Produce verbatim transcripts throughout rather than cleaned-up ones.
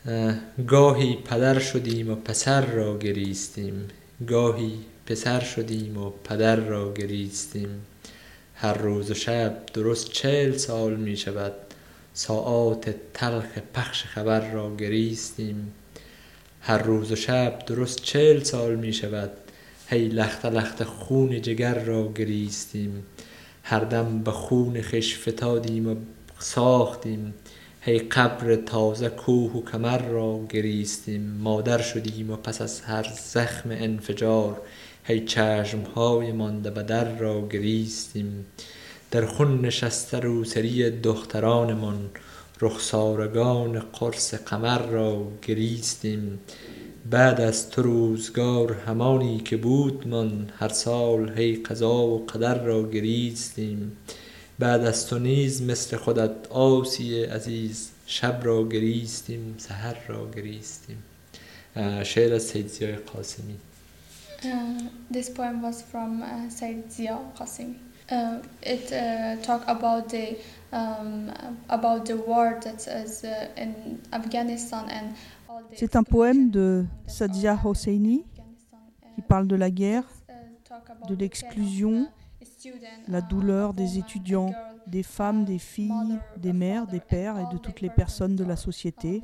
گاهی پدر شدیم و پسر را گریستیم، گاهی پسر شدیم و پدر را گریستیم. هر روز و شب درست چهل سال می شود، ساعات تلخ پخش خبر را گریستیم. هر روز و شب درست چهل سال می شود، هی لخت لخت خون جگر را گریستیم. هر دم به خون خویش فتادیم و ساختیم، هی قبر تازه کوه و کمر را گریستیم. مادر شدیم و پس از هر زخم انفجار، هی چشمهای مانده به در را گریستیم. در خون نشسته روسری دخترانمان، رخسارگان قرص قمر را گریستیم. بعد از تو روزگار همانی که بود من، هر سال هی قضا و قدر را گریستیم. بعد از تو نیز مثل خودت آسی عزیز، شب را گریستیم سحر را گریستیم. شعر از سید ضیای قاسمی. Uh, this poem was from uh, Said Zia Qasimi. Uh, it uh, talk about the um, about the war that is uh, in Afghanistan and all the. C'est un poème de Sadia Hosseini qui parle de la guerre, de l'exclusion, la douleur des étudiants, des femmes, des filles, des mères, des pères et de toutes les personnes de la société.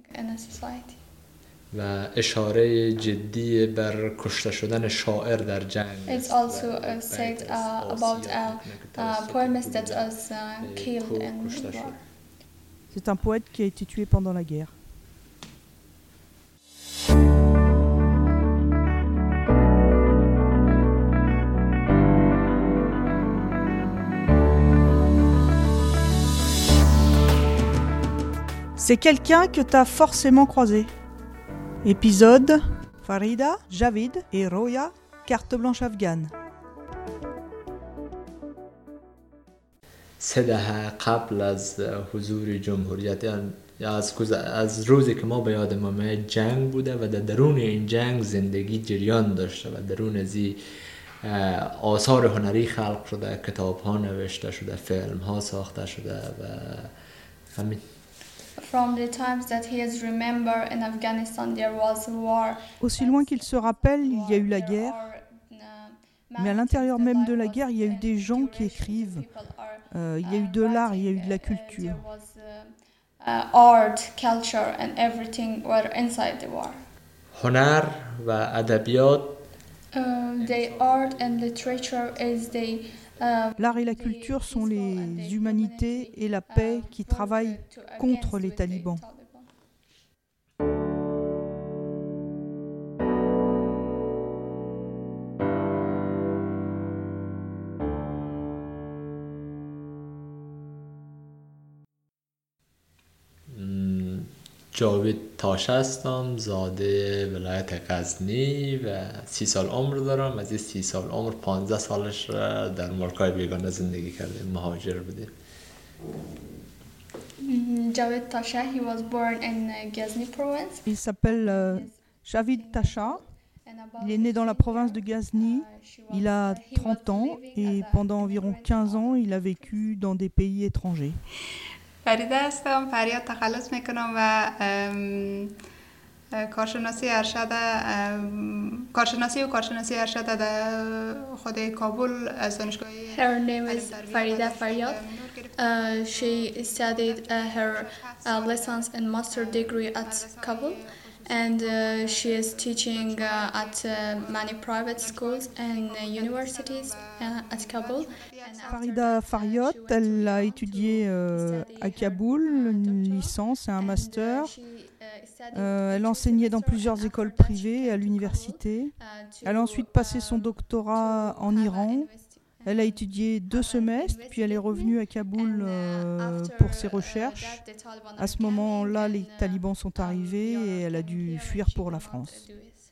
و اشاره جدی بر کشته شدن شاعر در جنگ. It's also uh, said uh, about a uh, poemist that was uh, killed in war. C'est un poète qui a été tué pendant la guerre. C'est quelqu'un que t'as forcément croisé. Épisode Farida, Javid et Roya, carte blanche afghane. سه دهه قبل از حضور جمهوریت، از از روزی که ما به یاد ما جنگ بوده و در درون این جنگ زندگی جریان داشته و درون ازی آثار هنری خلق شده، کتاب ها نوشته شده، فیلم ها ساخته شده و همین. From the times that he has remembered in Afghanistan there was war. Aussi loin qu'il se rappelle, il y a eu la guerre. Mais à l'intérieur même de la guerre, il y a eu des gens qui écrivent. Euh, il y a eu de l'art, il y a eu de la culture. Art, culture and everything were inside the war. هنر و ادبیات. The art and literature is the L'art et la culture sont les humanités et la paix qui travaillent contre les talibans. جاوید تاشه هستم، زاده ولایت غزنی و سی سال عمر دارم. از این سی سال عمر پانزده سالش را در ملکای بیگانه زندگی کردیم، مهاجر بودیم. Javid Tasha, he was born in Ghazni province. Il s'appelle euh, Javid Tasha. Il est né dans la province de Ghazni. Il a trente ans et pendant environ quinze ans, il a vécu dans des pays étrangers. فریده هستم، فریاد تخلص میکنم و کارشناسی ارشد کارشناسی و کارشناسی ارشد در خود کابل از دانشگاه. Her name is Farida Faryad. Uh, she studied uh, her uh, lessons and master degree at Kabul, and uh, she is teaching uh, at uh, many private schools and uh, universities uh, at Kabul. Farida Faryad, elle a étudié euh, à Kaboul, une licence et un master. Euh, elle enseignait dans plusieurs écoles privées et à l'université. Elle a ensuite passé son doctorat en Iran. Elle a étudié deux semestres, puis elle est revenue à Kaboul euh, pour ses recherches. À ce moment-là, les talibans sont arrivés et elle a dû fuir pour la France.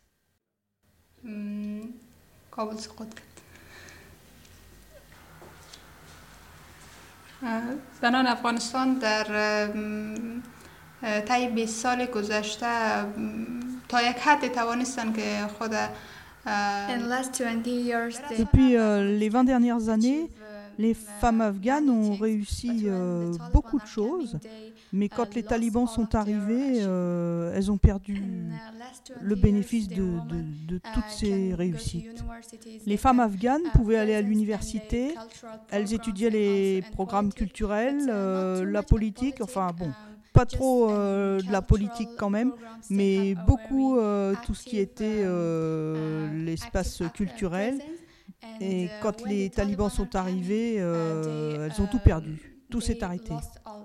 زنان افغانستان در طی بیست سال گذشته تا یک حدی توانستند که خود Depuis euh, les vingt dernières années, Les femmes afghanes ont réussi euh, beaucoup de choses, mais quand les talibans sont arrivés, euh, elles ont perdu le bénéfice de, de, de toutes ces réussites. Les femmes afghanes pouvaient aller à l'université, elles étudiaient les programmes culturels, euh, la politique, enfin bon, pas trop euh, de la politique quand même, mais beaucoup euh, tout ce qui était euh, l'espace culturel. Et quand les talibans sont arrivés, euh, elles ont tout perdu. Tout s'est arrêté.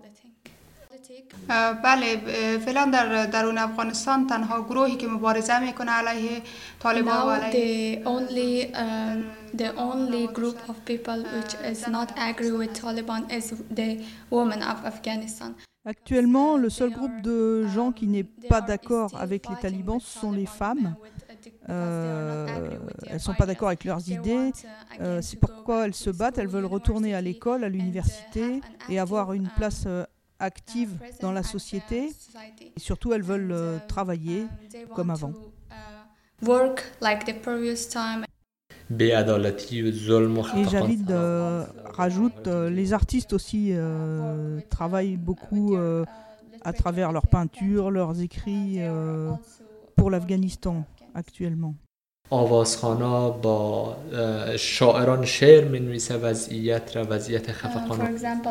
بله فعلا در درون افغانستان تنها گروهی که مبارزه میکنه علیه طالبان و علیه the only um, the only group of people which is not agree with Taliban is the women of Afghanistan. Actuellement, le seul groupe de gens qui n'est pas d'accord avec les talibans, ce sont les femmes. Euh, elles ne sont pas d'accord avec leurs idées, euh, c'est pourquoi elles se battent, elles veulent retourner à l'école, à l'université et avoir une place euh, active dans la société. Et surtout, elles veulent euh, travailler comme avant. Work like the previous time. Et Javid euh, rajoute, euh, les artistes aussi euh, travaillent beaucoup euh, à travers leurs peintures, leurs écrits euh, pour l'Afghanistan actuellement. آوازخوانا با شاعران شعر می‌نویسه وضعیت را وضعیت خفقان.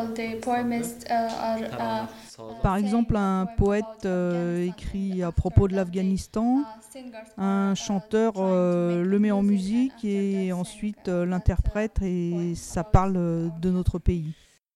Par exemple, un poète euh, écrit à propos de l'Afghanistan, un chanteur euh, le met en musique et ensuite euh, l'interprète et ça parle de notre pays.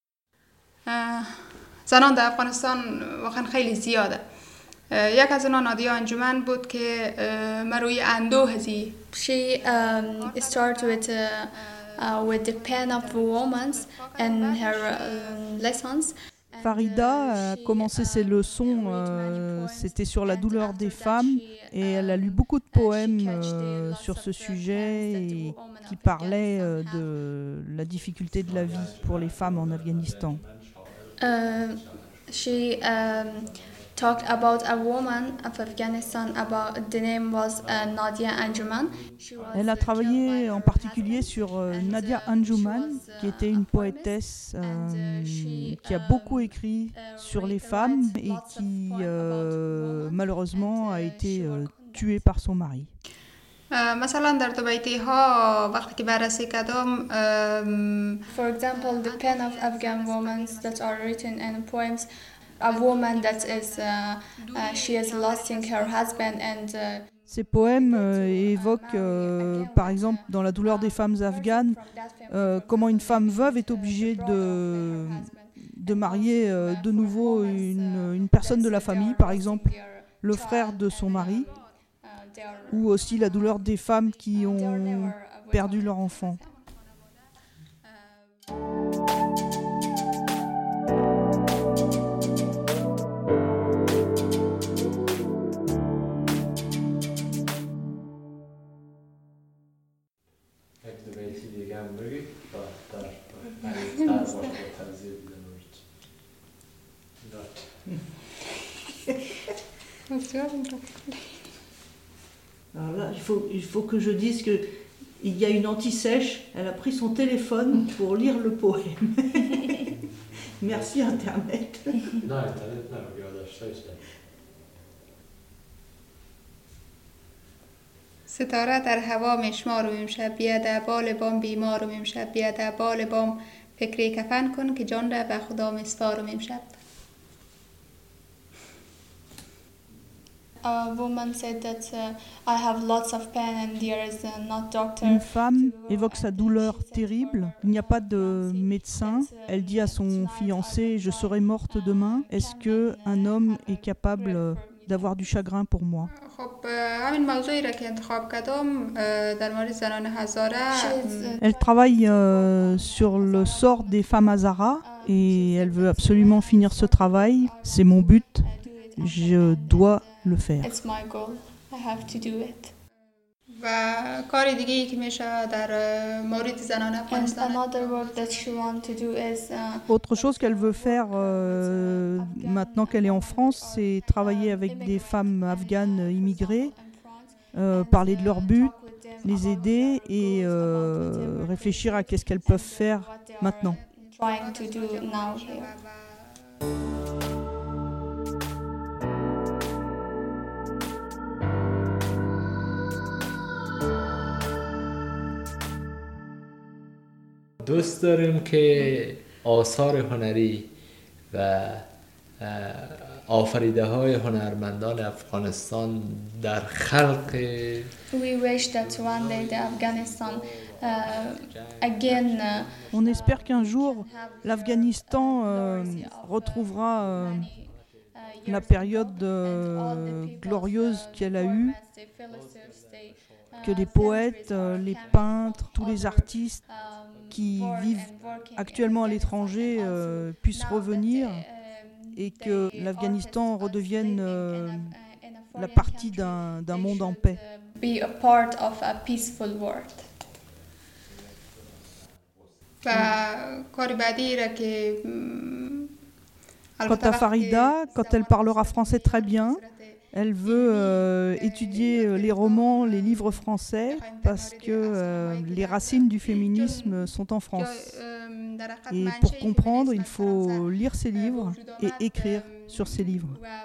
زنان در افغانستان واقعا خیلی زیاده. یک از اونها نادیا انجمن بود که مروی اندوه زی. She um, started with uh, uh, with the pen of women and her uh, lessons. Farida a commencé ses leçons, euh, c'était sur la douleur des femmes et elle a lu beaucoup de poèmes euh, sur ce sujet et qui parlaient euh, de la difficulté de la vie pour les femmes en Afghanistan. Uh, she um, talked about a woman of Afghanistan. About the name was uh, Nadia Anjuman. Elle a travaillé en particulier sur euh, Nadia Anjuman, qui était une poétesse euh, qui a beaucoup écrit sur les femmes et qui euh, malheureusement a été euh, tuée par son mari. مثلا در دو بیتی ها وقتی که بررسی کردم For example, the pen of Afghan women that are written in poems, a woman that is uh, uh, she is losing her husband and uh, Ces poèmes euh, évoquent, euh, par exemple, dans La douleur des femmes afghanes, euh, comment une femme veuve est obligée de, de marier euh, de nouveau une, une personne de la famille, par exemple le frère de son mari, ou aussi la douleur des femmes qui ont perdu leur enfant. Alors là, il faut, il faut que je dise qu'il y a une anti-sèche. Elle a pris son téléphone pour lire le poème. Merci Internet. Non, Internet non, regarde, ستاره در هوا میشمار و امشب بیاد بال بام بیمار و امشب بیاد بال بام فکری کفن کن که جان را به خدا مسپار و امشب. A woman said that uh, I have lots of pain and there is uh, not doctor. Une femme évoque sa douleur terrible. Il n'y a pas de médecin. Elle dit à son fiancé « Je serai morte demain. Est-ce que un homme est capable d'avoir du chagrin pour moi ?» Elle travaille euh, sur le sort des femmes Hazara et elle veut absolument finir ce travail. C'est mon but. Je dois le faire. It's my goal. I have to do it. و کار دیگه‌ای که میشه در مورد زنان افغانستان. And another work that she wants to do is uh, Autre chose qu'elle veut faire euh, maintenant qu'elle est en France, c'est travailler avec des femmes afghanes immigrées, euh, parler de leurs buts les aider et euh, réfléchir à qu'est-ce qu'elles peuvent faire maintenant. Trying to do now here. دوست داریم که آثار هنری و آفریده های هنرمندان افغانستان در خلق We wish that one day the Afghanistan uh, again. Uh, On espère qu'un jour l'Afghanistan euh, retrouvera euh, la période euh, glorieuse qu'elle a eue, que les poètes, euh, les peintres, tous les artistes qui vivent actuellement à l'étranger euh, puissent revenir et que l'Afghanistan redevienne euh, la partie d'un, d'un monde en paix. Be a part of a peaceful world. Quant à Farida, quand elle parlera français très bien, elle veut euh, étudier les romans, les livres français, parce que euh, les racines du féminisme sont en France. Et pour comprendre, il faut lire ces livres et écrire sur ces livres.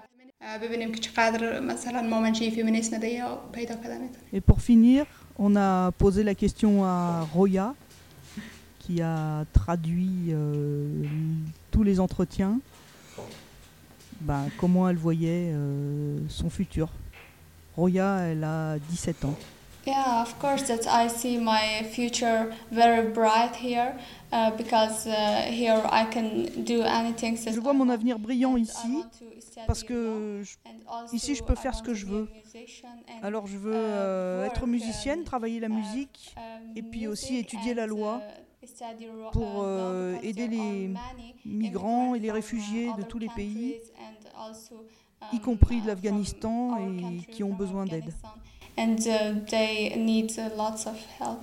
Et pour finir, on a posé la question à Roya, qui a traduit euh, tous les entretiens. Ben, comment elle voyait euh, son futur. Roya, elle a dix-sept ans. Yeah, of course that I see my future very bright here uh, because uh, here I can do anything. Je vois mon avenir brillant ici parce que je, ici je peux faire ce que je veux. Alors je veux euh, être musicienne, travailler la musique et puis aussi étudier la loi pour euh, aider les migrants et les réfugiés de tous les pays, y compris de l'Afghanistan, et qui ont besoin d'aide. And uh, they need uh, lots of help.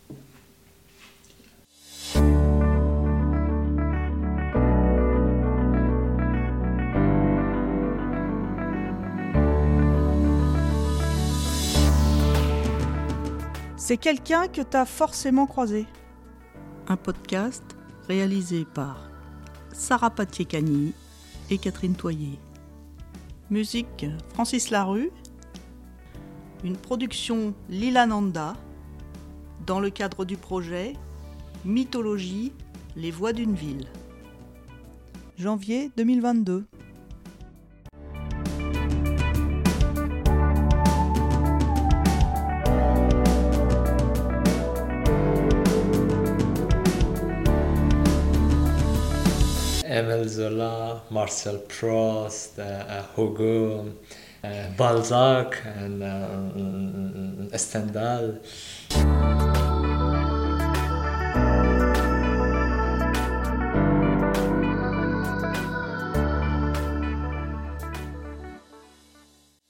C'est quelqu'un que tu as forcément croisé. Un podcast réalisé par Sarah Patiekani et Catherine Toyer. Musique Francis Larue. Une production Lilananda dans le cadre du projet Mythologie, les voix d'une ville. Janvier deux mille vingt-deux. Émile Zola, Marcel Proust, uh, Hugo, uh, Balzac and uh, Stendhal.